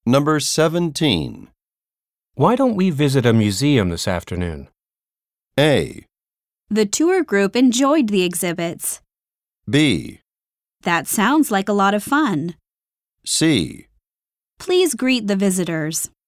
Number 17. Why don't we visit a museum this afternoon? A. The tour group enjoyed the exhibits. B. That sounds like a lot of fun. C. Please greet the visitors.